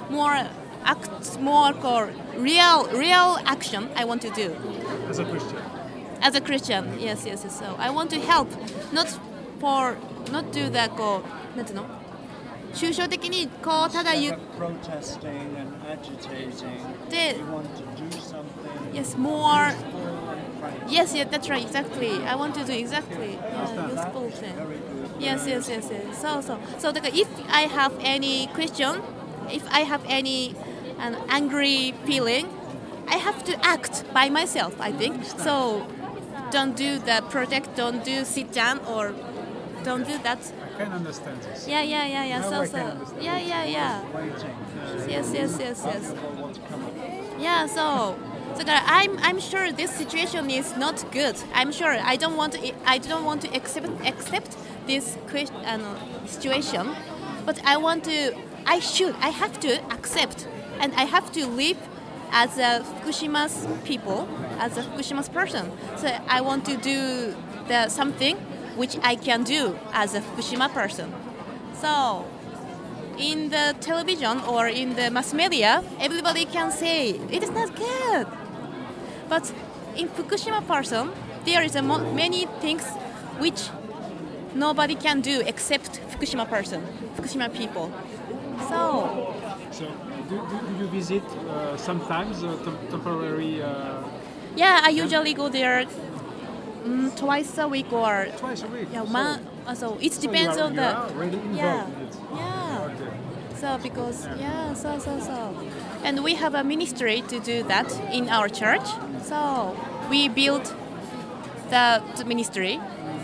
more real action I want to do. As a Christian. As a Christian, yes. So I want to help, not do the なんていうの？抽象的にただ言って protesting and agitating. You want to do something. Yes, more. Yes, that's right, exactly. I want to do exactly useful thing. Yes. So だから if I have any question, if I have any an angry feeling, I have to act by myself, I think. So don't do the project, don't do sit down or don't do that. I can understand this. Yeah. Now I can understand. Yeah. Waiting. Yes. Want to come up. Yeah, so that I'm sure this situation is not good. I'm sure I don't want to accept this situation, but I have to accept, and I have to live as a Fukushima's people, as a Fukushima's person. So I want to do something which I can do as a Fukushima person. So in the television or in the mass media, everybody can say it is not good. But in Fukushima person, there is many things which nobody can do except Fukushima people. So do you visit sometimes temporary? Yeah, I usually go there twice a week or Twice a week. Yeah, so it depends on you the are really involved in it. Okay. So because so and we have a ministry to do that in our church. So we built the ministry.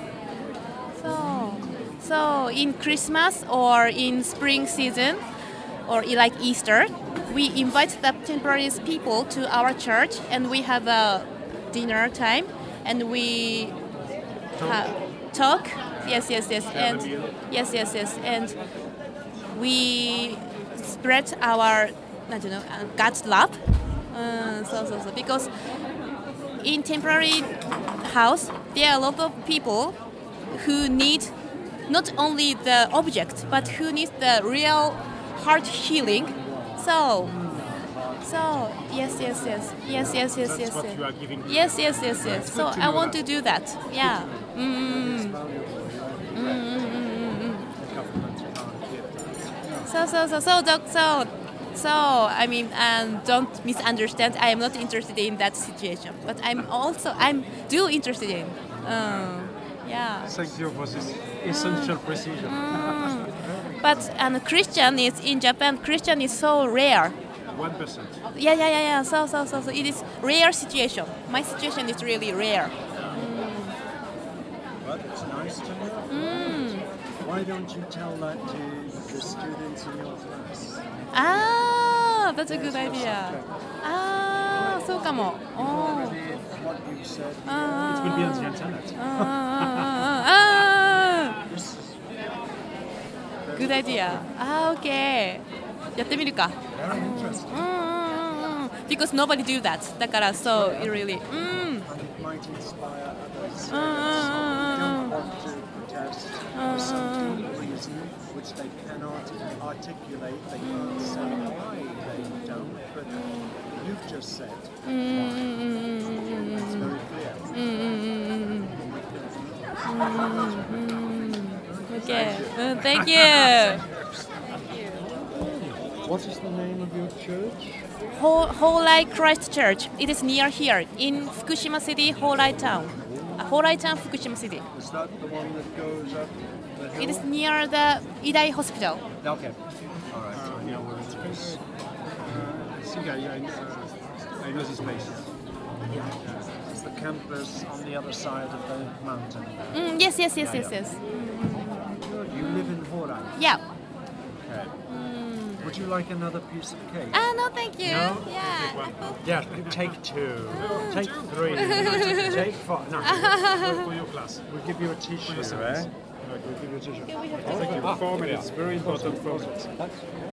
So in Christmas or in spring season or like Easter, we invite the temporary people to our church and we have a dinner time and we talk. Yes. And yes. And we spread our God's love. So because in temporary house there are a lot of people who need not only the object but who need the real heart healing. So yes. That's what you are giving. Yes. So I want that. to do that. Yeah. So I mean, and don't misunderstand. I am not interested in that situation, but I'm do interested in. Yeah. Thank you for this essential precision. But Christian is in Japan. Christian is so rare. 1%. Yeah. So it is rare situation. My situation is really rare. But it's nice to know. Why don't you tell that to the students in your class? That's a good idea. そうかも。 What you said. It will be on the internet. Good idea. Okay. やってみるか。 Very interesting. Because nobody do that. だから so it really. And it might inspire others. Don't want to protest for some reason which they cannot articulate. They can't say why they don't. But you've just said. It's very clear. Okay. Thank you. What is the name of your church? Holai Christ Church. It is near here in Fukushima City, Holai Town. Holai Town, Fukushima City. Is that the one that goes up the hill? It is near the Idai Hospital. Okay. All right. I know where it is. I think I know this place. It's the campus on the other side of the mountain. Yes. Good. You live in Horai. Yeah. Okay. Would you like another piece of cake? No, thank you. No? Yeah. Yeah, take two. Take three. Take four. No. For your class. We'll give you a tissue, eh? We'll give you a t-shirt. We have Thank you. 4 minutes. Very important 4 minutes.